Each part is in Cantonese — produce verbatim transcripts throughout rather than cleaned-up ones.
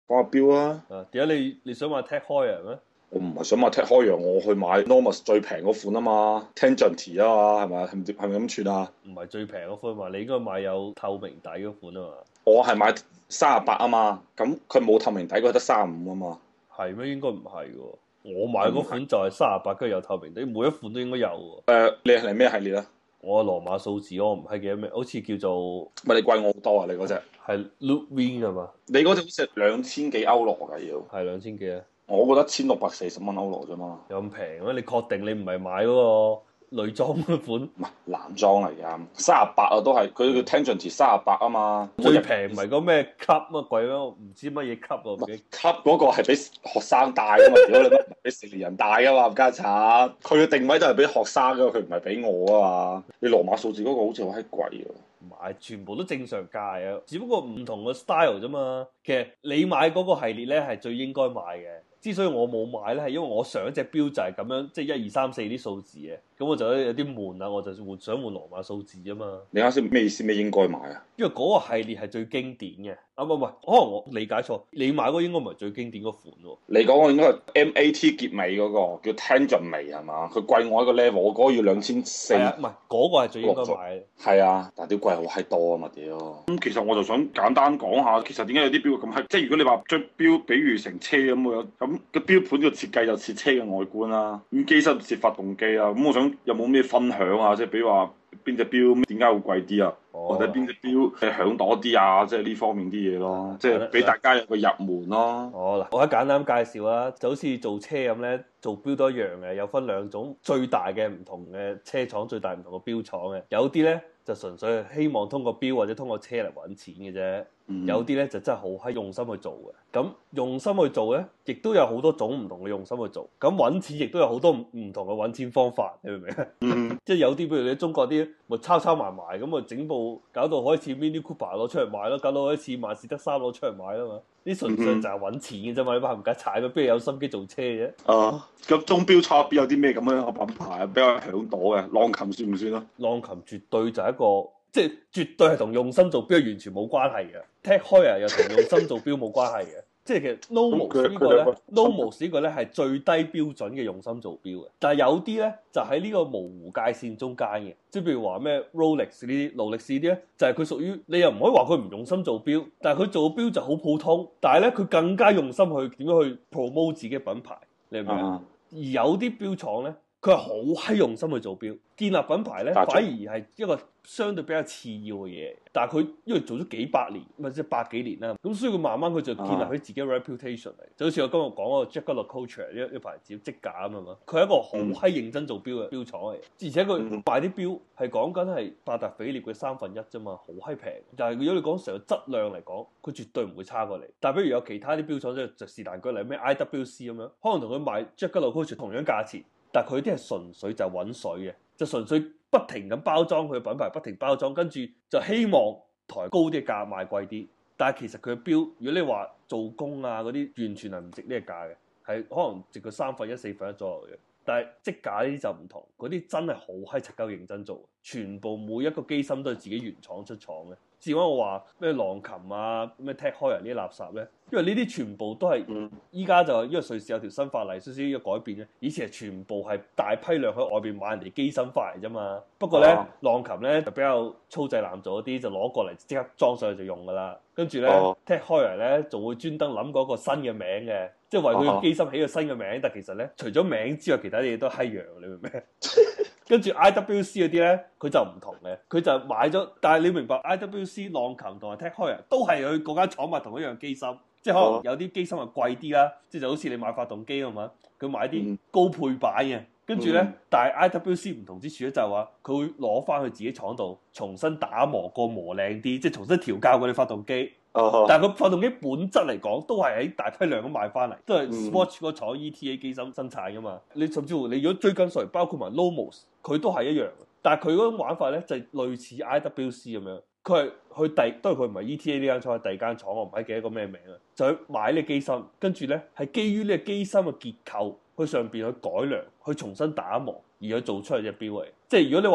講下錶啊！ 啊，點解你你想買 Tag Heuer 咩？ 我唔係想買 Tag Heuer，我去買 Normus 最平嗰款啊嘛，Tangent 啊嘛，係咪？係咪係咪咁串啊？ 唔係最平嗰款嘛，你應該買有透明底嗰款啊嘛。 我係買三十八啊嘛，咁佢冇透明底，佢得三十五啊嘛。 係咩？應該唔係喎。我買嗰款唔就係三十八，跟住有透明底，每一款都應該有喎。 誒，你係咩系列啊？ 我羅馬數字我唔係記得咩，好似叫做咪你貴我好多啊！你嗰隻， 係 Loop Wing 係嘛？ 你嗰隻好似係兩千幾歐羅㗎要， 係兩千幾啊？ 我覺得千六百四十蚊歐羅啫嘛。 有咁平咩？你確定你唔係買嗰個女裝嗰款？ 唔係男裝嚟㗎，三十八啊都係，佢叫 Tangent 三十八啊嘛。 最平唔係嗰咩 Club 乜鬼咩？唔知乜嘢 Club 啊？唔記得。 級嗰個係俾學生戴㗎嘛，屌你乜唔係俾成年人戴㗎嘛，冚家鏟。佢嘅定位都係俾學生㗎，佢唔係俾我啊嘛。你羅馬數字嗰個好似好閪貴啊！ 買全部都正常價啊，只不過唔同嘅 style 啫嘛。其實你買嗰個系列咧係最應該買嘅。之所以我冇買咧，係因為我上一隻錶就係咁樣，即係一二三四啲數字嘅，咁我就有啲悶啊，我就換想換羅馬數字啊嘛。 你啱先咩意思？咩應該買啊？ 因為嗰個系列係最經典嘅。啊唔係唔係，可能我理解錯，你買嗰個應該唔係最經典嗰款喎。 你講個應該係 M A T 結尾嗰、個叫 Tangent 眉係嘛？佢貴我一個 level，我嗰個要兩千四。 係啊，唔係嗰個係最應該買嘅。 係啊，但係屌貴好閪多啊嘛屌！咁其實我就想簡單講下，其實點解有啲錶咁閪？即係如果你話將錶比喻成車咁樣，咁個錶盤個設計就似車嘅外觀啦，咁機身似發動機啦。咁我想有冇咩分享啊？即係比如話邊隻錶點解會貴啲啊？ 哦、 或者邊隻錶係響多啲啊？即係呢方面啲嘢咯，即係俾大家有個入門咯。 哦嗱，我一簡單介紹啦，就好似做車咁咧，做錶都一樣嘅，有分兩種最大嘅唔同嘅車廠，最大唔同嘅錶廠嘅，有啲咧就純粹係希望通過錶或者通過車嚟揾錢嘅啫。有啲咧就真係好閪用心去做嘅，咁用心去做咧，亦都有好多種唔同嘅用心去做。咁揾錢亦都有好多唔同嘅揾錢方法，你明唔明啊？嗯、即係有啲，譬如你中國啲，咪抄抄埋埋咁啊，整部搞到開始 Mini Cooper 攞出嚟賣咯，搞到開始萬事得三攞出嚟賣啦嘛。啲純粹就係揾錢嘅啫嘛，你班冚家踩，邊有心機做車嘅？ 啊，咁鐘錶廠邊有啲咩咁樣嘅品牌啊？比較響朵嘅，浪琴算唔算啊？ 浪琴絕對就係一個。即係絕對係同用心做錶完全冇關係嘅，Tag Heuer又同用心做錶冇關係嘅。即係其實 Nomos 呢個咧，Nomos 呢個咧係最低標準嘅用心做錶嘅。但係有啲咧就喺呢個模糊界線中間嘅，即係譬如話咩 Rolex 呢啲、勞力士啲咧，就係佢屬於你又唔可以話佢唔用心做錶，但係佢做錶就好普通。但係咧佢更加用心去點樣去 promote 自己嘅品牌，你明唔明啊？而有啲錶廠咧。佢係好閪用心去做錶，建立品牌咧，反而係一個相對比較次要嘅嘢。但係佢因為做咗幾百年，或者百幾年啦，咁所以佢慢慢佢就建立起自己嘅 reputation 嚟。就好似我今日講嗰個 Jaeger-LeCoultre 一一牌子積架啊嘛，佢係一個好閪認真做錶嘅錶廠嚟，而且佢賣啲錶係講緊係百達翡麗嘅三分一啫嘛，好閪平。但係如果你講成個質量嚟講，佢絕對唔會差過你。但係比如有其他啲錶廠即係就是但舉例咩 I W C 咁樣，可能同佢賣 Jaeger-LeCoultre 同樣價錢。但係佢啲係純粹就揾水嘅，就純粹不停咁包裝佢嘅品牌，不停包裝，跟住就希望抬高啲價賣貴啲。但係其實佢嘅錶，如果你話做工啊嗰啲，完全係唔值呢個價嘅，係可能值佢三分一、四分一左右嘅。但係積架呢啲就唔同，嗰啲真係好閪柒鳩認真做，全部每一個機芯都係自己原廠出廠嘅。至於我話咩浪琴啊、咩 Tag Heuer呢啲垃圾咧，因為呢啲全部都係依家就因為瑞士有條新法例，少少嘅改變咧。以前係全部係大批量喺外邊買人哋機芯翻嚟啫嘛。不過咧，啊、浪琴咧就比較粗製濫造啲，就攞過嚟即刻裝上去就用噶啦。跟住咧、啊、Tag Heuer 咧就會專登諗嗰個新嘅名嘅，即係為佢個機芯起個新嘅名。但其實咧，除咗名之外，其他啲嘢都閪樣，你明唔明？跟住 I W C 嗰啲咧，佢就唔同嘅，佢就買咗。但係你明白 I W C 浪琴同埋 Tag Heuer 都係佢嗰間廠買同一樣機芯，即係可能有啲機芯係貴啲啦，即係就好似你買發動機咁嘛，佢買啲高配版嘅。跟住咧，但係 I W C 唔同之處咧就係話，佢會攞翻去自己廠度重新打磨過磨靚啲，即係重新調校過啲發動機。Uh huh. 但係個發動機本質嚟講，都係喺大批量咁買翻嚟，都係 Swatch 嗰個廠 E T A 機芯生產噶嘛。你甚至乎你如果追根溯源，包括埋 Nomos，佢都係一樣。但係佢嗰種玩法咧就係類似 I W C 咁樣，佢係去第都係佢唔係 E T A 呢間廠，係第二間廠，我唔係記得個咩名啊。就去買呢個機芯，跟住咧係基於呢個機芯嘅結構，去上邊去改良，去重新打磨，而去做出嚟隻錶嚟。即係如果你話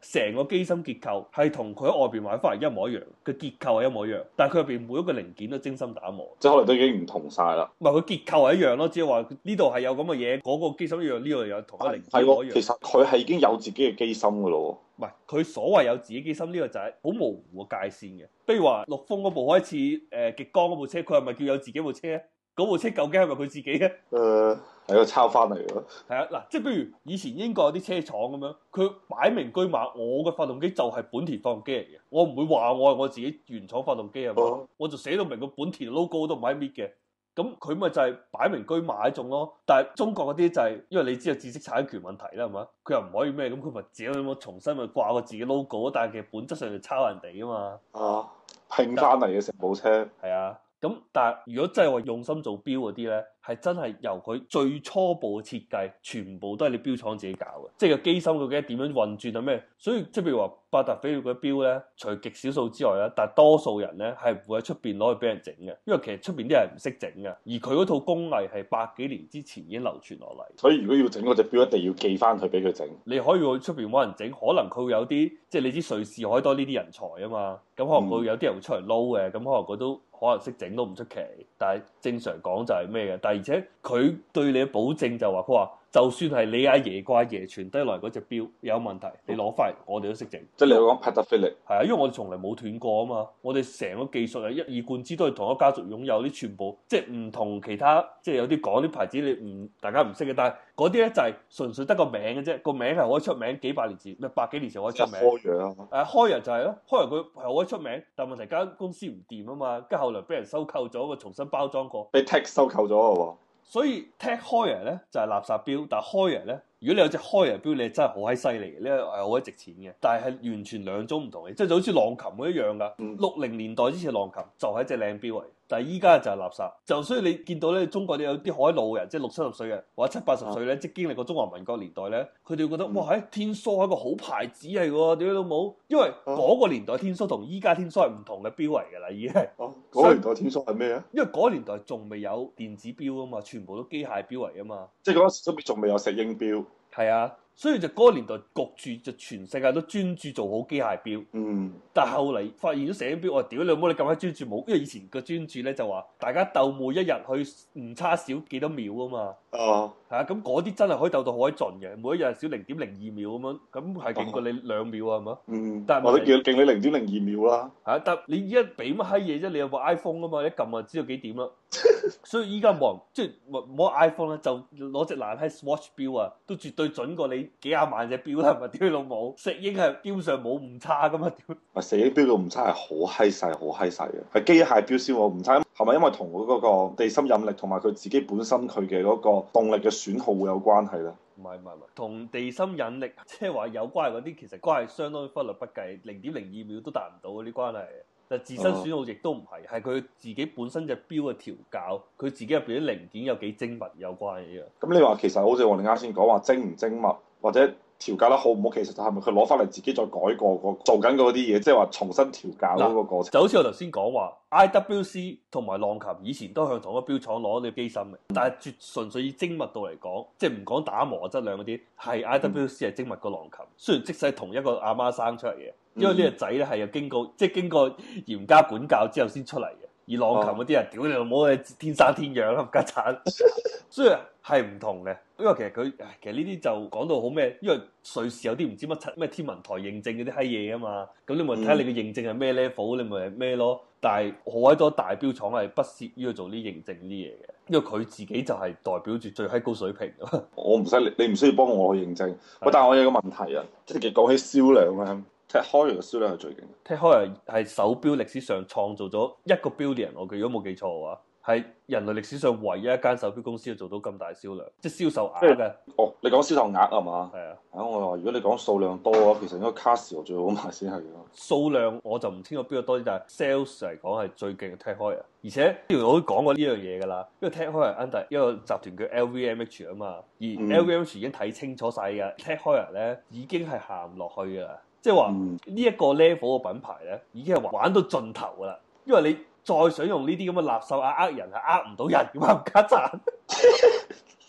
成個機芯結構係同佢喺外邊買翻嚟一模一樣，個結構係一模一樣，但係佢入邊每一個零件都精心打磨， 即係可能都已經唔同晒啦。 唔係佢結構係一樣咯，只係話呢度係有咁嘅嘢，嗰、那個機芯一樣，呢度有同一零件一模一樣。 其實佢係已經有自己嘅機芯噶咯。 唔係佢所謂有自己機芯呢個就係好模糊嘅界線嘅。比如話陸豐嗰部開始誒極光嗰部車，佢係咪叫有自己部車？嗰部車究竟係咪佢自己嘅？ 誒係個抄翻嚟嘅。係啊，嗱，即係比如以前英國有啲車廠咁樣，佢擺明居馬，我嘅發動機就係本田發動機嚟嘅，我唔會話我係我自己原廠發動機係嘛，哦、我就寫到明個本田 logo 都唔喺搣嘅。咁佢咪就係擺明居馬一種咯。但係中國嗰啲就係、是、因為你知道知識產權問題啦，係嘛？佢又唔可以咩咁，佢咪自己咁重新咪掛個自己 logo，但係其實本質上就抄人哋啊嘛。 啊，拼翻嚟嘅成部車。 係啊。咁但係如果真係話用心做錶嗰啲咧，係真係由佢最初步嘅設計，全部都係你錶廠自己搞嘅，即係個機芯究竟點樣運轉啊咩？所以即係譬如話百達翡麗嗰啲錶咧，除極少數之外咧，但係多數人咧係唔會喺出邊攞去俾人整嘅，因為其實出邊啲人唔識整嘅，而佢嗰套工藝係百幾年之前已經流傳落嚟。 所以如果要整嗰隻錶，一定要寄翻去俾佢整。 你可以去出邊揾人整，可能佢會有啲即係你知瑞士可以多呢啲人才啊嘛，咁可能佢有啲人會出嚟撈嘅，咁可能佢都。可能識整都唔出奇，但係正常講就係咩嘅？但係而且佢對你嘅保證就話，佢話就算係你阿爺個阿爺傳低落嚟嗰隻錶有問題，你攞翻嚟，我哋都識整。 即係你講百達翡麗， 係啊，因為我哋從來冇斷過啊嘛，我哋成個技術係一以貫之，都係同一家族擁有啲，全部即係唔同其他，即係有啲講啲牌子你唔大家唔識嘅，但係嗰啲咧就係純粹得個名嘅啫，個名係可以出名，幾百年前咩百幾年前可以出名。 開陽誒開陽就係咯，開陽佢係可以出名，但係問題間公司唔掂啊嘛，跟住後來俾人收購咗，個重新包裝過， 被 Tech 收購咗喎。 所以 Tech Heuer 咧就係、是、垃圾錶，但係 Heuer咧，如果你有隻 Heuer 錶，你真係好閪犀利嘅，呢個係好閪值錢嘅。但係係完全兩種唔同嘅，即係就好似浪琴嗰一樣噶。六零、嗯、年代之前浪琴就係一隻靚錶嚟，但係依家就係垃圾。就所以你見到咧，中國有啲海老人，即係六七十歲嘅或者七八十歲咧，啊、即係經歷過中華民國年代咧，佢哋會覺得、嗯、哇，喺天梭係一個好牌子嚟喎，屌你老母！因為嗰個年代天梭同依家天梭係唔同嘅錶嚟㗎啦，已經係。哦、啊，嗰、那個年代天梭係咩啊？因為嗰個年代仲未有電子錶啊嘛，全部都機械錶嚟啊嘛。即係嗰時都仲未有石英錶。 係啊。所以就嗰個年代焗住就全世界都專注做好機械錶，嗯，但係後嚟發現咗石英錶，我話屌你老母你咁閪專注冇，因為以前個專注咧就話大家鬥每一日去唔差少幾多秒啊嘛，哦，係啊，咁嗰啲真係可以鬥到好閪盡嘅，每一日少零點零二秒咁樣，咁係勁過你兩秒啊，係嘛？嗯，但係我都叫勁你零點零二秒啦， 係啊，但你而家俾乜閪嘢啫？你有部 iPhone 啊嘛，一撳就知道幾點啦。所以依家冇人即係冇 iPhone 咧，就攞隻爛閪 Swatch 錶啊，都絕對準過你幾廿萬隻錶啦，係咪？屌你老母，石英係基本上冇誤差噶嘛？屌！ 啊，石英錶個誤差係好閪細，好閪細嘅，係機械錶先冇誤差，係咪因為同佢嗰個地心引力同埋佢自己本身佢嘅嗰個動力嘅損耗會有關係咧？ 唔係唔係唔係，同地心引力即係話有關係嗰啲，其實關係相當忽略不計，零點零二秒都達唔到嗰啲關係。但自身損耗亦都唔係，係佢自己本身隻錶嘅調校，佢自己入邊啲零件有幾精密有關嘅。 咁你話其實好似我哋啱先講話精唔精密，或者調校得好唔好，其實就係咪佢攞翻嚟自己再改過個做緊嗰啲嘢，即係話重新調校嗰個過程。 就好似我頭先講話 I W C 同埋浪琴以前都向同一個錶廠攞啲機芯嘅，但係絕純粹以精密度嚟講，即係唔講打磨質量嗰啲，係 I W C 係精密過浪琴。雖然即使係同一個阿媽生出嚟嘅。因為呢個仔咧係有經過，即係經過嚴加管教之後先出嚟嘅。而浪琴嗰啲人，屌你老母，天生天養啦，冚家鏟，所以係唔同嘅。因為其實佢，其實呢啲就講到好咩？因為瑞士有啲唔知乜柒咩天文台認證嗰啲閪嘢啊嘛。咁你咪睇下你嘅認證係咩 level，你咪係咩咯。但係好閪多大錶廠係不屑於去做呢認證啲嘢嘅，因為佢自己就係代表住最閪高水平。 我唔使你，你唔需要幫我去認證。喂的，但係我有個問題啊，即係講起銷量咧。Tech Heuer 嘅銷量係最勁嘅。 Tech Heuer係手錶歷史上創造咗一個 billion，我如果冇記錯嘅話，係人類歷史上唯一一間手錶公司做到咁大銷量，即係銷售額嘅。 哦，你講銷售額係嘛？係啊。啊，我話如果你講數量多嘅話，其實應該 Casio 最好賣先係咯。 數量我就唔清楚邊個多啲，但係 sales 嚟講係最勁嘅 Tech Heuer。而且之前我都講過呢樣嘢㗎啦，因為 Tech Heuer under 一個集團叫 L V M H 啊嘛，而 L V M H 已經睇清楚晒㗎、嗯、Tech Heuer 咧已經係行唔落去㗎啦。即係話呢一個 level 嘅品牌咧，已經係玩到盡頭噶啦。因為你再想用呢啲咁嘅垃圾啊呃人係呃唔到人嘅嘛，唔家賺。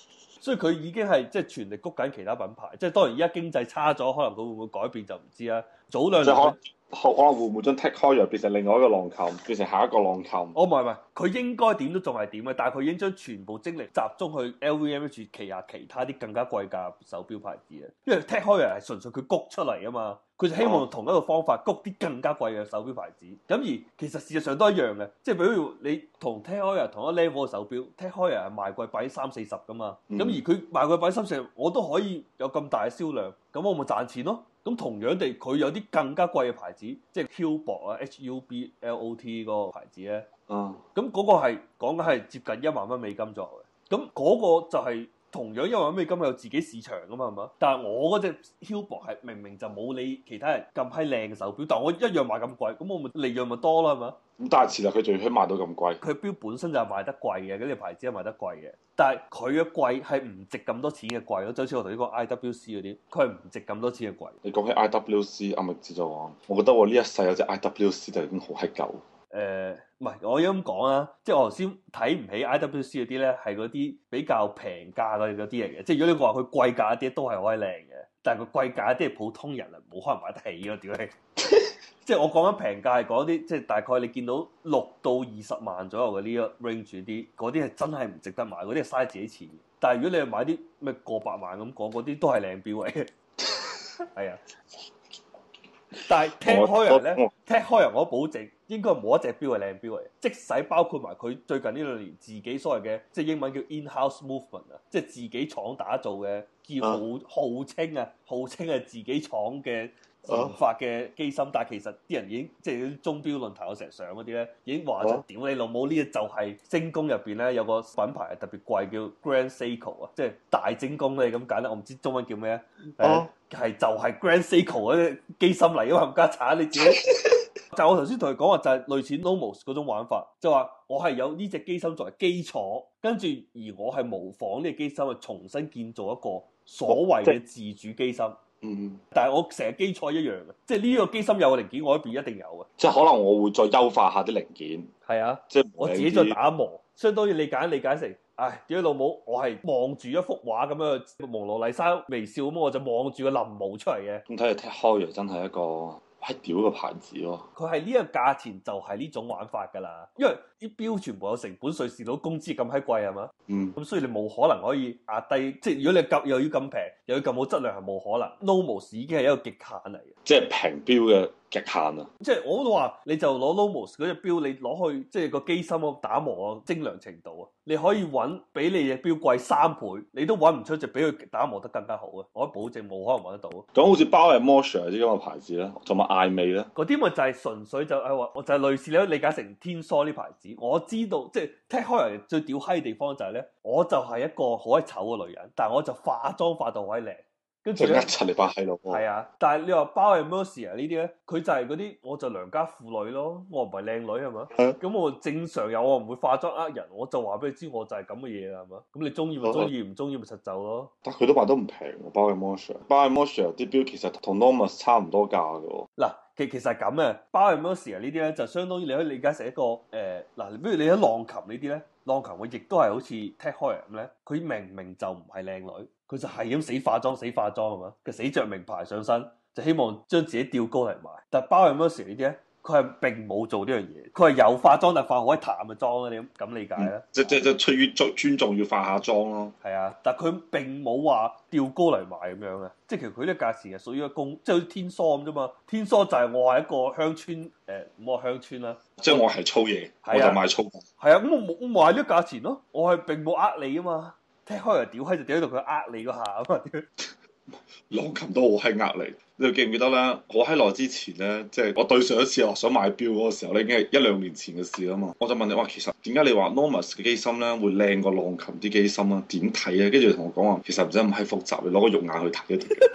所以佢已經係即係全力谷緊其他品牌。即係當然而家經濟差咗，可能佢會唔會改變就唔知啦。早兩年可可能會唔會將 Tech Heuer 變成另外一個浪琴，變成下一個浪琴？ 哦，唔係唔係，佢應該點都仲係點嘅，但係佢已經將全部精力集中去 L V M H 旗下其他啲更加貴價手錶牌子嘅，因為 Tech Heuer 係純粹佢谷出嚟啊嘛，佢就希望用同一個方法谷啲更加貴嘅手錶牌子。咁而其實事實上都一樣嘅，即係比如你同 Tech Heuer 同一 level 嘅手錶，Tech Heuer 係賣貴擺三四十噶嘛，咁、嗯、而佢賣貴擺三四十，我都可以有咁大嘅銷量，咁我咪賺錢咯。咁同樣地，佢有啲更加貴嘅牌子，即係 Hublot 啊 ，H U B L O T 嗰個牌子咧。嗯。咁嗰個係講緊係接近一萬蚊美金左右嘅。咁嗰個就係同樣一萬蚊美金有自己市場噶嘛，係嘛？但係我嗰隻 Hublot 係明明就冇你其他人咁閪靚嘅手錶，但我一樣賣咁貴，咁我咪利潤咪多咯，係嘛？ 咁但係其實佢仲要賣到咁貴， 佢錶本身就係賣得貴嘅，嗰啲牌子係賣得貴嘅，但係佢嘅貴係唔值咁多錢嘅貴咯，就好似我同呢個 I W C 嗰啲，佢係唔值咁多錢嘅貴。 你講起 I W C，阿麥子就話，我覺得我呢一世有隻 I W C 就已經好閪舊。 誒，唔係，我要咁講啊，即係我頭先睇唔起 I W C 嗰啲咧，係嗰啲比較平價嘅嗰啲嚟嘅，即係如果你話佢貴價一啲都係好閪靚嘅，但係佢貴價一啲係普通人啊冇可能買得起咯，屌你！即係我講緊平價係講啲，即係大概你見到六到二十萬左右嘅呢個 range 啲，嗰啲係真係唔值得買，嗰啲係嘥自己錢。但係如果你係買啲咩過百萬咁講，嗰啲都係靚錶嚟嘅。係啊，但係 Tech Heuer 咧 Tech Heuer我保證應該冇一隻錶係靚錶嚟，即使包括埋佢最近呢兩年自己所謂嘅，即係英文叫 in-house movement 啊，即係自己廠打造嘅，叫號號稱啊，號稱係自己廠嘅。研發嘅機芯，但係其實啲人已經即係啲鐘錶論壇我成日上嗰啲咧，已經話就屌你老母呢！就係精工入邊咧有個品牌係特別貴叫 Grand Seiko 啊，即係大精工咧咁簡單，我唔知中文叫咩啊？誒係就係 Grand Seiko 嗰啲機芯嚟啊嘛，冚家鏟你自己。就我頭先同佢講話就係類似 Nomos 嗰種玩法，就話我係有呢隻機芯作為基礎，跟住而我係模仿呢隻機芯去重新建造一個所謂嘅自主機芯。嗯，但係我成日基礎一樣嘅，即係呢個機芯有個零件，我嗰邊一定有嘅。 即係可能我會再優化下啲零件。 係啊， 即係我自己再打磨，相當於你解理解成，唉，屌你老母，我係望住一幅畫咁樣，蒙羅麗莎微笑咁，我就望住個臨摹出嚟嘅。 咁睇嚟 Tech Heuer真係一個係屌嘅牌子咯。 佢係呢個價錢就係呢種玩法㗎啦，因為啲錶全部有成本稅，蝕到工資咁閪貴係嘛？嗯。咁所以你冇可能可以壓低，即係如果你咁又要咁平，又要咁好質量係冇可能。Nomos 已經係一個極限嚟嘅， 即係平錶嘅極限啊！ 即係我都話，你就攞 Nomos 嗰隻錶，你攞去即係個機芯個打磨精良程度啊，你可以揾比你隻錶貴三倍，你都揾唔出隻比佢打磨得更加好啊！我保證冇可能揾得到。 咁好似包係 Moser 啲咁嘅牌子咧，同埋艾美咧， 嗰啲咪就係純粹就係話，我就係類似你可以理解成天梭呢牌子。我知道即係 Tech Heuer最屌閪嘅地方就係咧，我就係一個好閪醜嘅女人，但係我就化妝化到好閪靚。跟住咧， 陳你把閪佬。 係啊，但係你話包係 Mercier 呢啲咧，佢就係嗰啲，我就良家婦女咯，我唔係靚女係嘛？咁、啊、我正常有，我唔會化妝呃人，我就話俾你知，我就係咁嘅嘢啦，係嘛？咁你中意咪中意，唔中意咪實走咯。 但佢都賣得唔平喎，包係 Mercier，包係 Mercier 啲錶其實同 Nomos 差唔多價嘅喎。 嗱，其其實係咁嘅，包係 Mercier 呢啲咧，就相當於你可以理解成一個誒，嗱、呃，比如你喺浪琴呢啲咧，浪琴我亦都係好似 Tech Heuer 咁咧，佢明明就唔係靚女。佢就係咁死化妝死化妝係嘛？佢死着名牌上身，就希望將自己吊高嚟賣。但係包係 Mercier 呢啲咧，佢係並冇做呢樣嘢，佢係有化妝但係化好閪淡嘅妝啦。你咁咁理解咧、嗯？即即即出於尊尊重要化下妝咯。係啊，但係佢並冇話吊高嚟賣咁樣嘅。即係其實佢呢個價錢係屬於一個公，即係好似天梭咁啫嘛。天梭就係我係一個鄉村誒，唔好話鄉村啦。即係我係粗嘢，我就賣粗。係啊，咁我冇我賣呢個價錢咯。我係並冇呃你啊嘛。Tech Heuer屌閪就屌到佢呃你嗰下啊嘛！ 浪琴都好閪呃你，你記唔記得咧？好閪耐之前咧，即係我對上一次我想買錶嗰個時候咧，已經係一兩年前嘅事啦嘛。我就問你話，其實點解你話 Nomos 嘅機芯咧會靚過浪琴啲機芯啊？點睇啊？跟住同我講話，其實唔使咁閪複雜，你攞個肉眼去睇一睇。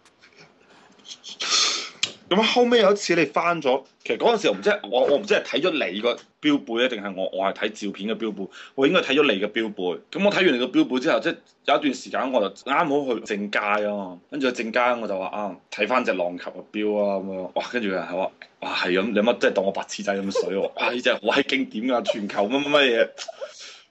咁後尾有一次你翻咗，其實嗰陣時我唔知我我唔知係睇咗你個標背咧，定係我我係睇照片嘅標背，我應該睇咗你嘅標背。咁我睇完你個標背之後，即係有一段時間我就啱好去正街啊，跟住去正街我就話啊睇翻隻浪琴嘅標啊咁樣，哇！跟住有人係話哇係咁，你乜即係當我白痴仔咁水喎？哇！呢隻好閪經典㗎，全球乜乜乜嘢。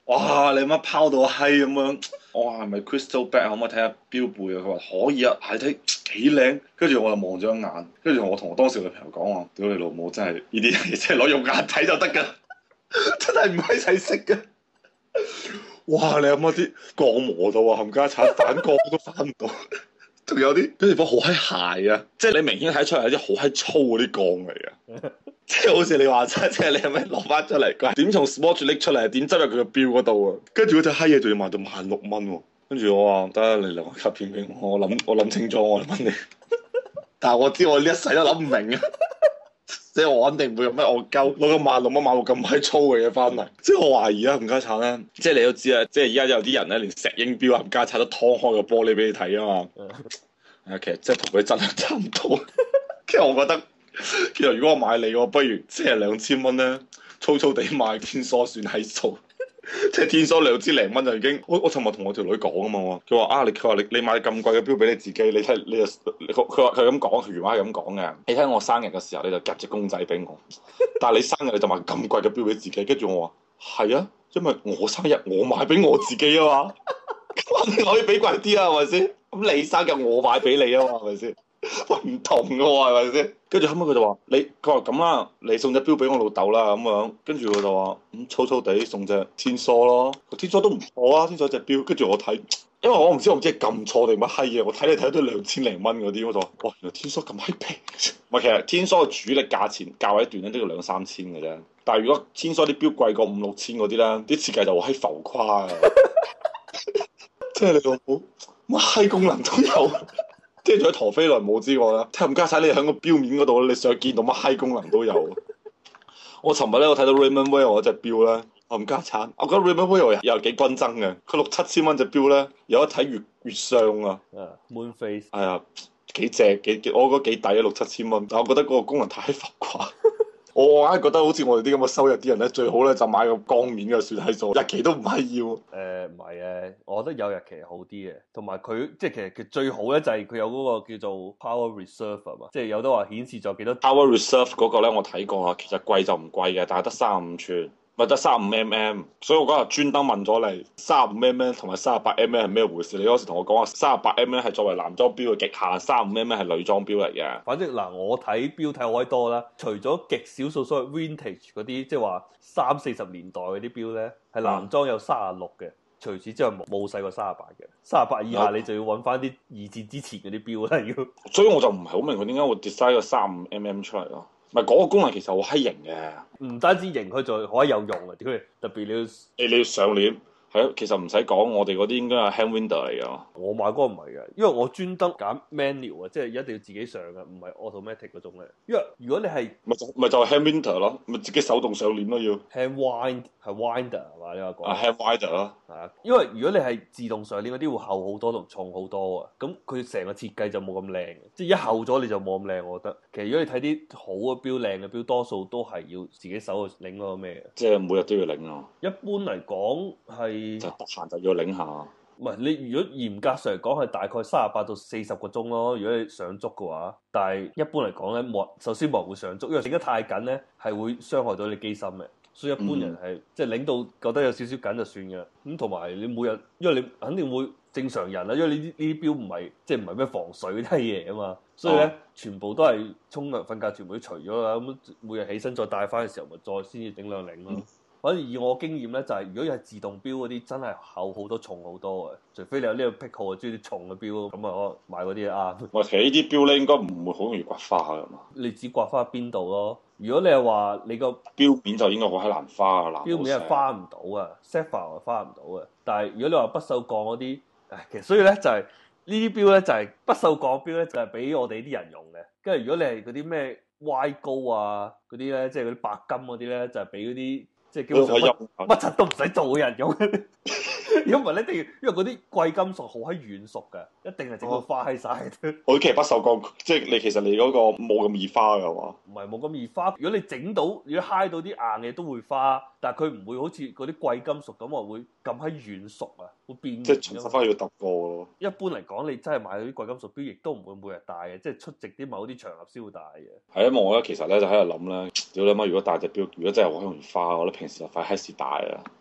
哇！你乜拋到閪咁樣？我話係咪 Crystal Back 可唔可以睇下標背啊？佢話可以啊，係睇幾靚。跟住我就望咗一眼，跟住我同我當時女朋友講話：屌你老母，真係呢啲嘢真係攞用眼睇就得㗎，真係唔閪使識㗎。哇！你有冇啲鋼磨到啊？冚家鏟反光都反唔到，仲有啲啲地方好閪鞋啊！即係你明顯睇出嚟係啲好閪粗嗰啲鋼嚟嘅。即係好似你話齋，即係你係咪攞翻出嚟？佢點從 Swatch 拎出嚟？點執入佢個錶嗰度啊？跟住嗰隻閪嘢仲要賣到萬六蚊喎！跟住我話得，你留個卡片俾我，我諗我諗清楚，我問你。但係我知我呢一世都諗唔明啊！即係我肯定唔會有咩惡鳩攞個萬六蚊買個咁閪粗嘅嘢翻嚟。即係我懷疑啊，冚家鏟咧，即係你都知啊，即係而家有啲人咧，連石英錶冚家鏟都劏開個玻璃俾你睇啊嘛。係啊，其實即係同佢質量差唔多。其實我覺得。其實如果我買你，我不如即係兩千蚊咧，粗粗地買天梭算係數，即係天梭兩千零蚊就已經。我我尋日同我條女講啊嘛，佢話啊，你佢話你你買咁貴嘅錶俾你自己，你睇你就佢佢話佢咁講，佢原話係咁講嘅。你睇我生日嘅時候，你就夾隻公仔俾我，但係你生日你就買咁貴嘅錶俾自己，跟住我話係啊，因為我生日我買俾我自己啊嘛，咁你可以俾貴啲啊，係咪先？咁你生日我買俾你啊嘛，係咪先？喂，唔同嘅喎，係咪先？跟住後尾佢就話：你佢話咁啦，你送隻錶俾我老豆啦咁樣。跟住佢就話：咁、嗯、粗粗地送隻天梭咯，天梭都唔錯啊，天梭隻錶。跟住我睇，因為我唔知我唔知係撳錯定乜閪嘢，我睇你睇到兩千零蚊嗰啲，我就話：哇，原來天梭咁閪平。唔係，其實天梭嘅主力價錢價位段咧都要兩三千嘅啫。但係如果天梭啲錶貴過五六千嗰啲咧，啲設計就好閪浮誇啊！即係你老母乜閪功能都有。即係除咗陀飛輪冇之外啦，睇唔加晒你喺個錶面嗰度，你想見到乜閪功能都有。我尋日咧，我睇到 Raymond Weil 嗰隻錶咧，我唔加產，我覺得 Raymond Weil 又係幾均真嘅。佢六七千蚊隻錶咧，有得睇月月相啊。 啊、uh,，Moon Face。 係啊，幾正幾幾，我覺得幾抵啊，六七千蚊。但係我覺得嗰個功能太浮誇。我我硬係覺得好似我哋啲咁嘅收入啲人咧，最好咧就買個光面嘅算係數，日期都唔係要。誒唔係嘅，我覺得有日期好啲嘅，同埋佢即係其實佢最好咧就係佢有嗰個叫做 Power Reserve 啊嘛，即係有得話顯示咗幾多 Power Reserve 嗰個咧，我睇過啊，其實貴就唔貴嘅，但係得三十五寸。咪得三十五 mm，所以我嗰日專登問咗你三十五 mm 同埋三十八 mm 係咩回事？你嗰時同我講話三十八 mm 係作為男裝錶嘅極限，三十五 mm 係女裝錶嚟嘅。 反正嗱，我睇錶睇好閪多啦，除咗極少數所謂 vintage 嗰啲，即係話三四十年代嗰啲錶咧，係男裝有三十六嘅，除此之外冇冇細過三十八嘅，三十八以下你就要揾翻啲二戰之前嗰啲錶啦要。 所以我就唔係好明佢點解會 design 個三十五 mm 出嚟咯。唔係嗰個功能其實好閪型嘅， 唔單止型，佢仲可以有用啊！屌你，特別你要你你要上鏈。係咯，其實唔使講，我哋嗰啲應該係 hand window 嚟㗎。 我買嗰個唔係嘅，因為我專登揀 manual 啊，即係一定要自己上嘅，唔係 automatic 嗰種咧。因為如果你係咪就咪就係 hand window 咯，咪自己手動上鏈咯要。 hand wind 係 winder 係嘛？你話講啊 hand winder 咯， 係啊，因為如果你係自動上鏈嗰啲會厚好多同重好多啊，咁佢成個設計就冇咁靚，即係一厚咗你就冇咁靚。我覺得其實如果你睇啲好嘅錶、靚嘅錶，多數都係要自己手去擰嗰個咩嘅， 即係每日都要擰啊。 一般嚟講係。 就得閒就要擰下， 唔係你如果嚴格上嚟講係大概三十八到四十個鐘咯，如果你上足嘅話，但係一般嚟講咧冇，首先冇人會上足，因為整得太緊咧係會傷害到你機芯嘅，所以一般人係、嗯、即係擰到覺得有少少緊就算嘅。咁同埋你每日，因為你肯定會正常人啦，因為呢啲呢啲錶唔係即係唔係咩防水嗰啲嘢啊嘛，所以咧、哦、全部都係沖涼瞓覺全部都除咗啦，咁每日起身再戴翻嘅時候咪再先至整兩擰咯。嗯反正以我經驗咧，就係、是、如果係自動錶嗰啲，真係厚好多、重好多嘅。除非你有呢個癖好，中意啲重嘅錶，咁啊可買嗰啲啱。 我其實呢啲錶咧，應該唔會好容易刮花㗎嘛。 你只刮花邊度咯？如果你係話你個錶面就應該好閪難花㗎啦。 錶面係花唔到啊 sapphire 係花唔到啊。但係如果你話不鏽鋼嗰啲，唉，其實所以咧就係、是、呢啲錶咧就係、是、不鏽鋼錶咧就係、是、俾我哋啲人用嘅。跟住如果你係嗰啲咩 Y 高啊嗰啲咧，即係嗰啲白金嗰啲咧，就係俾嗰啲。即係基本上乜乜柒都唔使做嘅人用，如果唔係咧，一定要因為嗰啲貴金屬好閪軟熟嘅，一定係整到花喺晒。 我其實不鏽鋼，即係你其實你嗰個冇咁易花嘅話， 唔係冇咁易花。如果你整到，如果揩到啲硬嘅都會花，但係佢唔會好似嗰啲貴金屬咁話會咁閪軟熟啊，會變。 即係重新翻要揼過咯。 一般嚟講，你真係買嗰啲貴金屬錶，亦都唔會每日戴嘅，即係出席啲某啲場合先會戴嘅。 係因為我咧其實咧就喺度諗咧，屌你媽！如果戴隻錶，如果真係好容易花，我覺得平時就快閪時戴啊。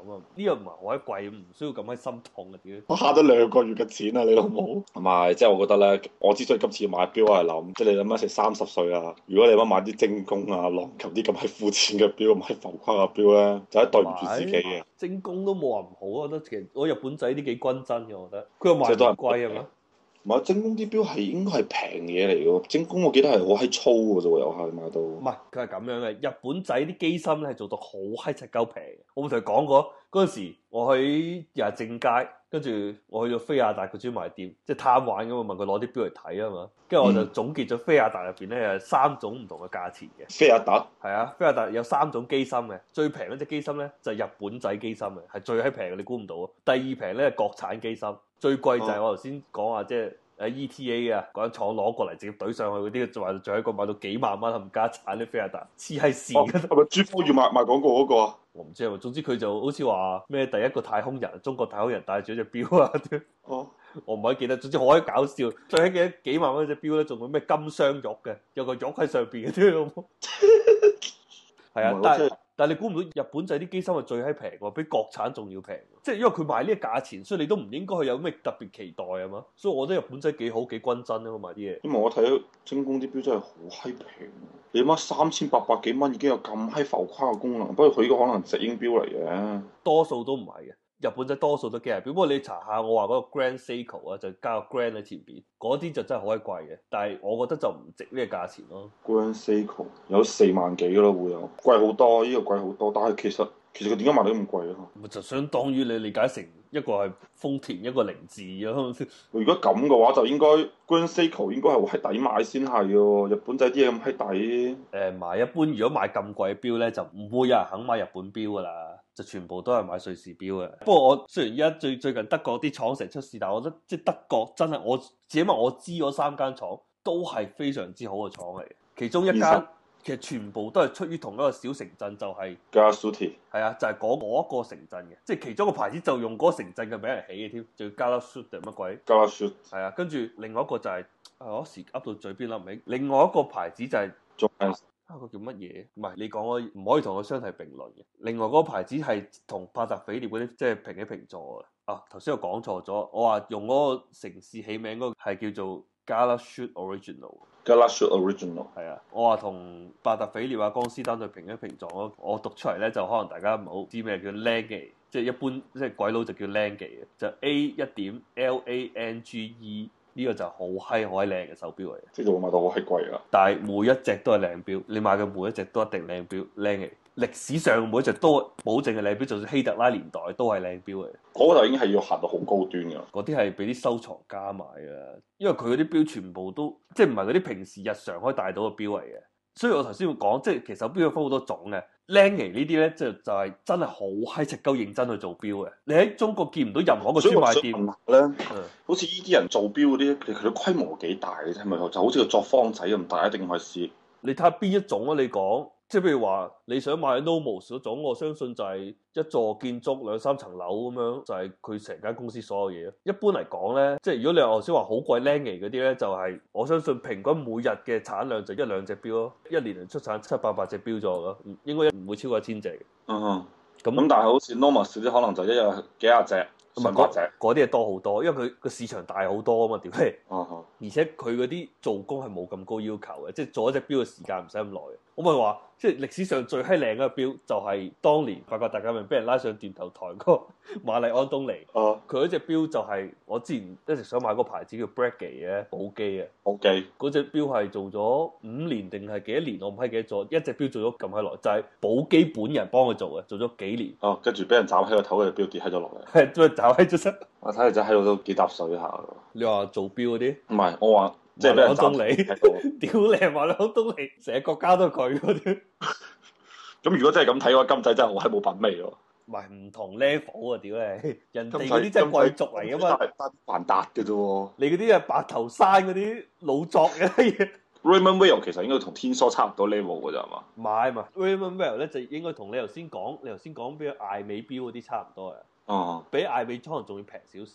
嘛，呢個唔係好閪貴，唔需要咁閪心痛嘅屌。 我慳咗兩個月嘅錢啊，你老母。唔係，即係我覺得咧，我之所以今次買錶，我係諗，即係你諗下成三十歲啊，如果你乜買啲精工啊、浪琴啲咁閪膚淺嘅錶、咁閪浮誇嘅錶咧，就係對唔住自己嘅。 精工都冇話唔好，我覺得其實我日本仔啲幾均真嘅，我覺得。佢又賣唔貴係嘛？ 唔係精工啲錶係應該係平嘢嚟嘅，精工我記得係好閪粗嘅啫喎，又係買到。唔係，佢係咁樣嘅。日本仔啲機芯咧係做到好閪柒鳩平。我冇同佢講過嗰陣時，我去又係正街，跟住我去咗飛亞達個專賣店，即係貪玩咁啊，問佢攞啲錶嚟睇啊嘛。跟住我就總結咗飛亞達入邊咧有三種唔同嘅價錢嘅。 飛亞達係啊，飛亞達有三種機芯嘅，最平嗰隻機芯咧就係日本仔機芯嘅，係最閪平嘅，你估唔到啊！第二平咧係國產機芯，最貴就係我頭先講話即係。誒 E T A 啊，嗰間廠攞過嚟直接懟上去嗰啲，就話仲喺個買到幾萬蚊冚家產啲飛亞達，黐閪線嘅。係咪珠峰要賣賣廣告嗰個啊？我唔知啊，總之佢就好似話咩第一個太空人，中國太空人戴住隻錶啊。哦，我唔可以記得，總之好閪搞笑。最閪記得幾萬蚊隻錶咧，仲有咩金雙玉嘅，有個玉喺上邊嘅啲。係啊，但係。但係你估唔到日本仔啲機芯係最閪平喎，比國產仲要平。即係因為佢賣呢個價錢，所以你都唔應該去有咩特別期待啊嘛。所以我覺得日本仔幾好幾均真啊嘛賣啲嘢。因為我睇到精工啲錶真係好閪平，你諗下三千八百幾蚊已經有咁閪浮誇嘅功能，不過佢呢個可能石英錶嚟嘅，多數都唔係嘅。日本仔多數都機械錶，不過你查下我話嗰個 Grand Seiko 啊，就加個 Grand 喺前邊，嗰啲就真係好鬼貴嘅。但係我覺得就唔值呢個價錢咯。Grand Seiko 有四萬幾咯，會有貴好多，呢、這個貴好多。但係其實其實佢點解賣得咁貴啊？咪就相當於你理解成一個係豐田，一個凌志咯。如果咁嘅話，就應該 Grand Seiko 應該係閪抵買先係喎。日本仔啲嘢咁閪抵。誒買一般，如果買咁貴嘅錶咧，就唔會有人肯買日本錶㗎啦。就全部都係買瑞士錶嘅。不過我雖然而家最最近德國啲廠成日出事，但係我覺得即係德國真係我只因為我知嗰三間廠都係非常之好嘅廠嚟嘅。其中一間其實全部都係出於同一個小城鎮，就係 Galasuti。係啊，就係嗰嗰一個城鎮嘅，即係其中一個牌子就用嗰個城鎮嘅名嚟起嘅添，就叫 Galasuti 定乜鬼 Galasuti。係啊，跟住另外一個就係、是、我一時噏到嘴邊諗唔起，另外一個牌子就係、是。啊！個叫乜嘢？唔係你講我唔可以同佢相提並論嘅。另外嗰個牌子係同帕特菲列嗰啲即係平起平坐嘅。啊，頭先我講錯咗，我話用嗰個城市起名嗰個係叫做 Galashut Original。Galashut Original 係啊，我話同帕特菲列啊、江斯丹對平起平坐咯。我讀出嚟咧就可能大家唔好知咩叫 Lange，即係一般即係鬼佬就叫 Lange 嘅，就 A 一點 L A N G E。呢個就好閪好閪靚嘅手錶嚟，即係會買到好閪貴啊！但係每一隻都係靚錶，你買嘅每一隻都一定靚錶，靚嘅。歷史上每一隻都保證係靚錶，就算希特拉年代都係靚錶嚟。嗰個就已經係要行到好高端㗎，嗰啲係俾啲收藏家買嘅，因為佢嗰啲錶全部都即係唔係嗰啲平時日常可以戴到嘅錶嚟嘅。所以我頭先會講，即係其實錶有分好多種嘅。Lange 呢啲咧，就就係真係好閪直鳩認真去做錶嘅。你喺中國見唔到任何一個專賣店咧，嗯、好似呢啲人做錶嗰啲，佢佢規模幾大嘅啫？係咪就好似個作坊仔咁大，一定係試？你睇下邊一種啊？你講。即係譬如話你想買 Nomos 嗰種，我相信就係一座建築兩三層樓咁樣，就係佢成間公司所有嘢。一般嚟講咧，即係如果你話頭先話好貴 Lange 嗰啲咧，就係、是、我相信平均每日嘅產量就一兩隻錶咯，一年能出產七八百隻錶咗咯，應該唔會超過一千隻。嗯哼，咁咁但係好似 Nomos 啲可能就一日幾廿隻。唔係嗰隻，嗰啲係多好多，因為佢個市場大好多啊嘛，屌你！哦哦，而且佢嗰啲做工係冇咁高要求嘅，即係做一隻錶嘅時間唔使咁耐。我咪話，即係歷史上最閪靚嘅錶就係當年法國大革命俾人拉上斷頭台嗰個瑪麗安東尼。哦，佢嗰隻錶就係我之前一直想買嗰個牌子叫 Breguet 嘅寶璣啊。寶璣嗰隻錶係做咗五年定係幾多年？我唔係記得咗，一隻錶做咗咁閪耐，就係寶璣本人幫佢做嘅，做咗幾年。哦，跟住俾人斬起個頭，嗰隻錶跌喺咗落嚟。係，都係斬喺咗身。我睇嚟就喺度都幾搭水下。你話做錶嗰啲？唔係，我話。即係俾人斬你，屌你係馬兩東尼，成個國家都係佢嗰啲。咁如果真係咁睇嘅話，金仔真係好閪冇品味喎。唔係唔同 level 啊，屌你！人哋嗰啲真係貴族嚟噶嘛，得還達嘅啫喎。你嗰啲係白頭山嗰啲老作嘅嘢。Raymond Weil 其實應該同天梭差唔多 level 嘅咋係嘛？唔係嘛 Raymond Weil 咧就應該同你頭先講，你頭先講俾艾美錶嗰啲差唔多嘅。哦、嗯，比艾美可能仲要平少少。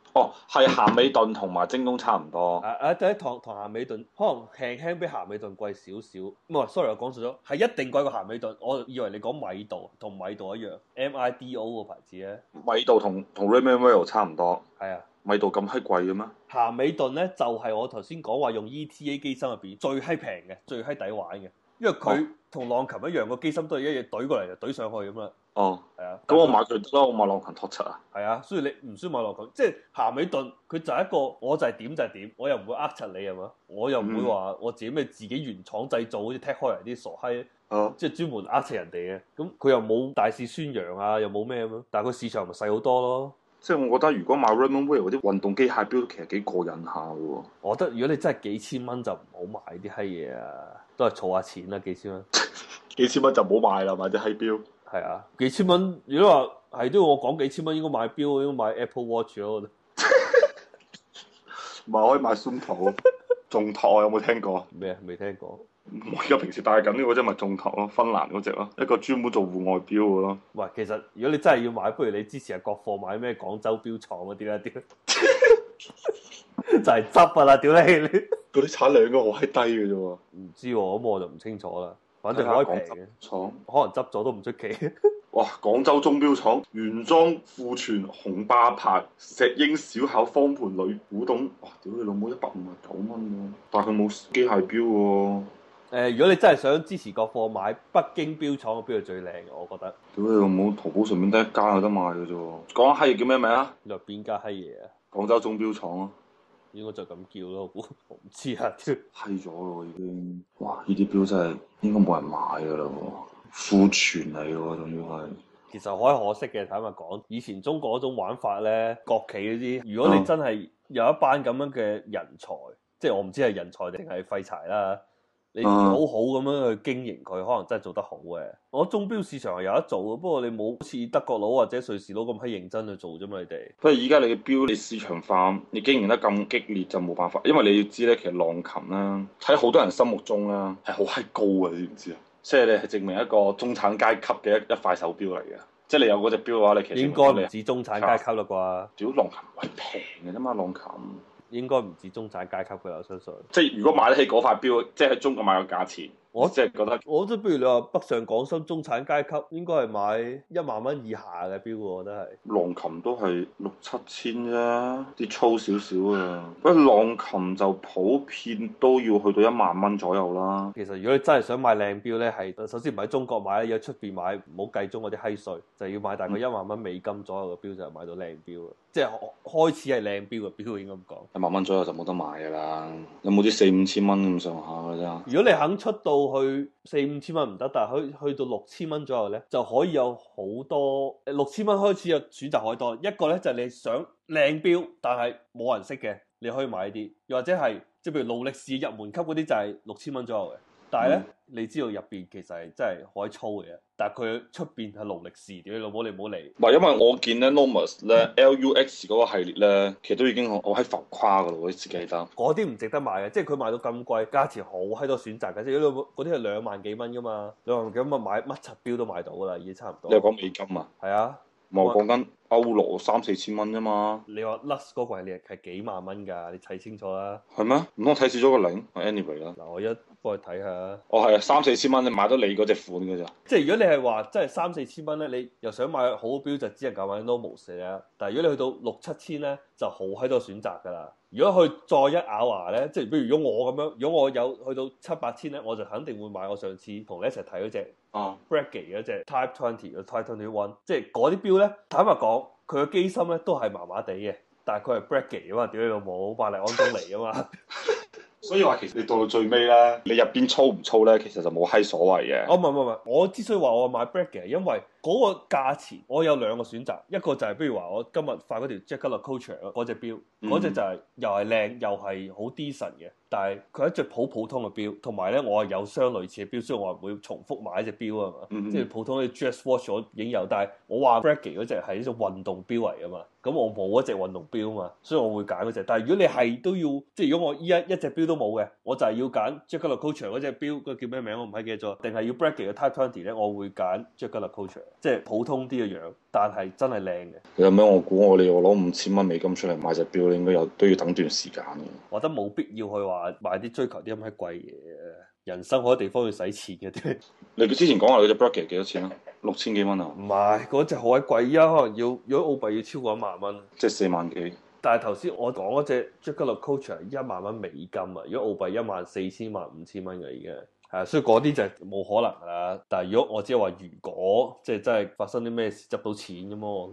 哦，係咸美頓同埋京東差唔多。 啊啊！第一堂同咸美頓可能輕輕比咸美頓貴少少，唔係，sorry，我講錯咗，係一定貴過咸美頓。我以為你講米道同米道一樣，M I D O 個牌子咧。 米道同同 Raymond Well 差唔多。 係啊， 米道咁閪貴嘅咩？ 咸美頓咧就係、是、我頭先講話用 E T A 機芯入邊最閪平嘅、最閪抵玩嘅，因為佢同浪琴一樣，個機芯都係一嘢懟過嚟就懟上去咁啦。 哦， 係啊， 咁我買佢得啦，我買浪琴托七啊。 係啊，所以你唔需要買浪琴，即係咸美頓佢就係一個，我就係點就係點，我又唔會呃柒你係嘛，我又唔會話我自己咩自己原廠製造，好似 Tech Heuer 啲傻閪， 哦， 即係專門呃柒人哋嘅，咁佢又冇大肆宣揚啊，又冇咩咁樣，但係佢市場咪細好多咯。 即係我覺得如果買 Raymond Well 嗰啲運動機械錶，其實幾過癮下喎。 我覺得如果你真係幾千蚊就唔好買啲閪嘢啊，都係儲下錢啦，幾千蚊。 幾千蚊就唔好買啦，買隻閪錶。 係啊，幾千蚊，如果話係都要我講幾千蚊，應該買錶，應該買 Apple Watch 咯。 唔係可以買 Suunto，眾拓有冇聽過？ 咩啊？未聽過。 我而家平時戴緊呢個啫，咪眾拓咯，芬蘭嗰隻咯，一個專門做戶外錶嘅咯。 喂，其實如果你真係要買，不如你支持下國貨買咩廣州錶廠嗰啲啦，屌，就係執啊啦，屌你！ 嗰啲產量應該好閪低嘅啫喎。 唔知喎，咁我就唔清楚啦。反正可以平嘅， 廠可能執咗都唔出奇。 哇！廣州鐘錶廠原裝庫存紅霸牌石英小巧方盤鋁古董，哇！屌你老母一百五十九蚊喎，但係佢冇機械錶喎。 誒，如果你真係想支持國貨，買北京錶廠嘅錶係最靚嘅，我覺得。 屌你老母，淘寶上面得一間有得賣嘅啫喎。講下閪嘢叫咩名啊？ 你話邊家閪嘢啊？ 廣州鐘錶廠啊。 應該就咁叫咯，我唔知啊，屌！ 閪咗咯已經，哇！呢啲錶真係應該冇人買㗎啦喎，庫存嚟喎，仲要係。 其實可可惜嘅，坦白講，以前中國嗰種玩法咧，國企嗰啲，如果你真係有一班咁樣嘅人才，嗯、即係我唔知係人才定係廢柴啦。你好好咁樣去經營佢，可能真係做得好嘅。我鐘錶市場係有得做嘅，不過你冇好似德國佬或者瑞士佬咁閪認真去做啫嘛，你哋。 不過而家你嘅錶你市場化，你經營得咁激烈就冇辦法，因為你要知咧，其實浪琴啦，喺好多人心目中啦係好閪高嘅，你知唔知啊？即係你係證明一個中產階級嘅一一塊手錶嚟嘅。即係你有嗰隻錶嘅話，你其實應該唔止中產階級啦啩？ 屌浪琴係平嘅啫嘛，浪琴。 應該唔止中產階級嘅，我相信。 即係如果買得起嗰塊錶，即係喺中國買個價錢，我即係覺得， 我即係不如你話北上廣深中產階級，應該係買一萬蚊以下嘅錶，我覺得係。 浪琴都係六七千啫，啲粗少少啊。不過浪琴就普遍都要去到一萬蚊左右啦。 其實如果你真係想買靚錶咧，係首先唔喺中國買，要喺出邊買，唔好計中嗰啲閪稅，就要買大概一萬蚊美金左右嘅錶就係買到靚錶啊！即係開始係靚錶嘅錶，應該咁講。 一萬蚊左右就冇得買㗎啦，有冇啲四五千蚊咁上下㗎啫？ 如果你肯出到去四五千蚊唔得，但係去去到六千蚊左右咧，就可以有好多誒六千蚊開始有選擇可以多。一個咧就係、是、你想靚錶，但係冇人識嘅，你可以買啲；又或者係即係譬如勞力士入門級嗰啲就係六千蚊左右嘅。但係咧，嗯、你知道入邊其實係真係可以粗嘅，但係佢出邊係勞力士，屌你老母你唔好嚟。 唔係，因為我見咧 Nomos 咧 L U X 嗰個系列咧，其實都已經好喺浮誇噶咯，我自己記得。 嗰啲唔值得買嘅，即係佢賣到咁貴，價錢好閪多選擇嘅，即係嗰啲係兩萬幾蚊噶嘛，兩萬幾蚊買乜柒錶都買到噶啦，已經差唔多。 你係講美金啊？ 係啊， 我講緊歐羅三四千蚊啫嘛。 你話 Lux 嗰個系列係幾萬蚊㗎？你睇清楚啦。係咩？唔通我睇少咗個零？Anyway 啦。 嗱，我一幫你睇下。 哦，係啊，三四千蚊你買到你嗰隻款㗎咋？ 即係如果你係話真係三四千蚊咧，你又想買好錶就只能夠買 Nomos 啦。但係如果你去到六七千咧，就好閪多選擇㗎啦。如果佢再一咬牙咧，即係譬如如果我咁樣，如果我有去到七八千咧，我就肯定會買我上次同你一齊睇嗰隻啊 Breguet 嗰隻 Type Twenty 嘅 Type Twenty One，即係嗰啲錶咧，坦白講，佢嘅機芯咧都係麻麻地嘅，但係佢係 Breguet 啊嘛，屌你老母，百麗安東尼啊嘛。 所以話其實你到到最尾咧，你入邊粗唔粗咧，其實就冇閪所謂嘅。 哦，唔係唔係唔係，我之所以話我買 Breguet，因為嗰個價錢我有兩個選擇，一個就係、是、譬如話我今日發嗰條 Jacket LeCoultre 嗰隻錶，嗰隻、嗯、就係、是、又係靚又係好 decent 嘅， 但係佢係一隻好普通嘅錶，同埋咧我係有雙類似嘅錶，所以我唔會重複買一隻錶啊嘛。嗯、即係普通嘅 G S Watch 我已經有，但係我話 Breguet 嗰隻係一種運動錶嚟啊嘛。咁我冇嗰隻運動錶啊嘛，所以我會揀嗰隻。但係如果你係都要，即係如果我依一一隻錶都冇嘅，我就係要揀 Jaeger-LeCoultre 嗰隻錶，個叫咩名我唔係記得咗，定係要 Breguet 嘅 Type Twenty 咧，我會揀 Jaeger-LeCoultre，即係普通啲嘅樣，但係真係靚嘅。 有咩？我估我哋我攞五千蚊美金出嚟買隻錶，應該有都要等段時間嘅。 我覺得冇必要去話買啲追求啲咁閪貴嘢，人生好多地方要使錢嘅啲。 你之前講話嗰隻 Breguet 幾多錢啊？六千幾蚊啊？ 唔係，嗰隻好鬼貴啊，可能要如果澳幣要超過一萬蚊， 即係四萬幾。 但係頭先我講嗰隻 Jaeger-LeCoultre 係一萬蚊美金啊，如果澳幣一萬四千萬五千蚊嘅已經係，所以嗰啲就冇可能啦。但係如果我只係話如果即係真係發生啲咩事執到錢咁咯。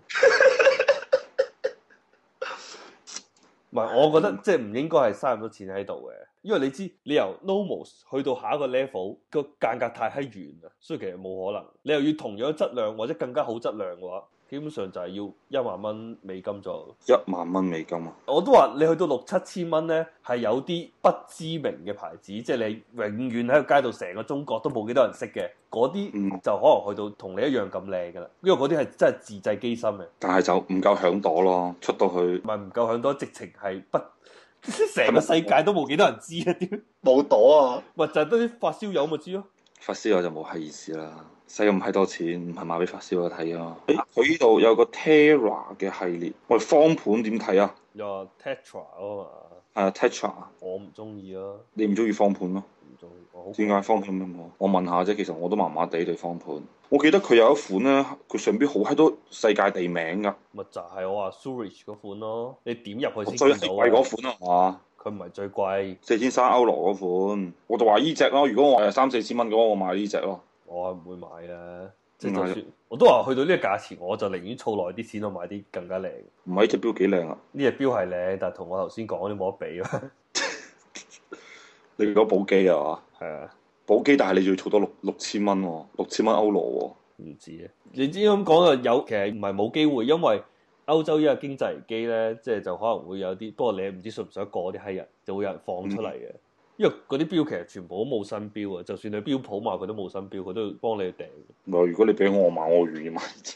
唔係，我覺得即係唔應該係嘥咁多錢喺度嘅，因為你知你由 Nomos 去到下一個 level 個間隔太閪遠啦，所以其實冇可能。你又要同樣質量或者更加好質量嘅話，基本上就係要一萬蚊美金左右。 一萬蚊美金啊！ 我都話你去到六七千蚊咧，係有啲不知名嘅牌子，即係你永遠喺個街度成個中國都冇幾多人識嘅，嗰啲就可能去到同你一樣咁靚噶啦，因為嗰啲係真係自製機芯嘅。 但係就唔夠響朵咯，出到去唔係唔夠響朵，直情係不成個世界都冇幾多人知啊！點冇朵啊？ 咪就係得啲發燒友咪知咯。 發燒友就冇閪意思啦，使咁閪多錢唔係賣俾發燒友睇啊！誒，佢呢度有個 Terra 嘅系列，喂，方盤點睇啊？ 有 Tetra 啊嘛。 係啊，Tetra。我唔中意啊。 你唔中意方盤咯？ 唔中意。 點解方盤咁好？我問下啫，其實我都麻麻地對方盤。我記得佢有一款咧，佢上邊好閪多世界地名㗎。 咪就係我話 Zurich 嗰款咯，你點入去先最見到貴嗰款啊嘛。 佢唔係最貴， 四千三歐羅嗰款，我就話依隻咯。如果我係三四千蚊嘅話，我買呢隻咯。 我唔會買啊，即係就算我都話去到呢個價錢，我就寧願儲耐啲錢，我買啲更加靚。 唔係呢隻錶幾靚啊？ 呢隻錶係靚，但係同我頭先講啲冇得比啊。 你講寶璣啊嘛？ 係啊， 寶璣，但係你仲要儲到六六千蚊喎，六千蚊歐羅喎。 唔知啊，你知咁講啊，有其實唔係冇機會，因為歐洲依個經濟危機咧，即係就可能會有啲，不過你唔知信唔信得過啲閪人，就會有人放出嚟嘅。嗯、因為嗰啲錶其實全部都冇新錶啊，就算你錶鋪買佢都冇新錶，佢都要幫你訂。 唔係，如果你俾我買，我願意買。